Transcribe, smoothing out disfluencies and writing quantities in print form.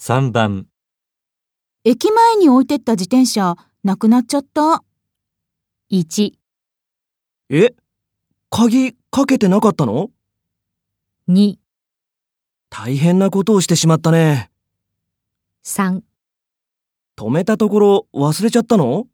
3番、 駅前に置いてった自転車、なくなっちゃった。 1、 鍵かけてなかったの？ 2、 大変なことをしてしまったね。 3 止めたところ忘れちゃったの？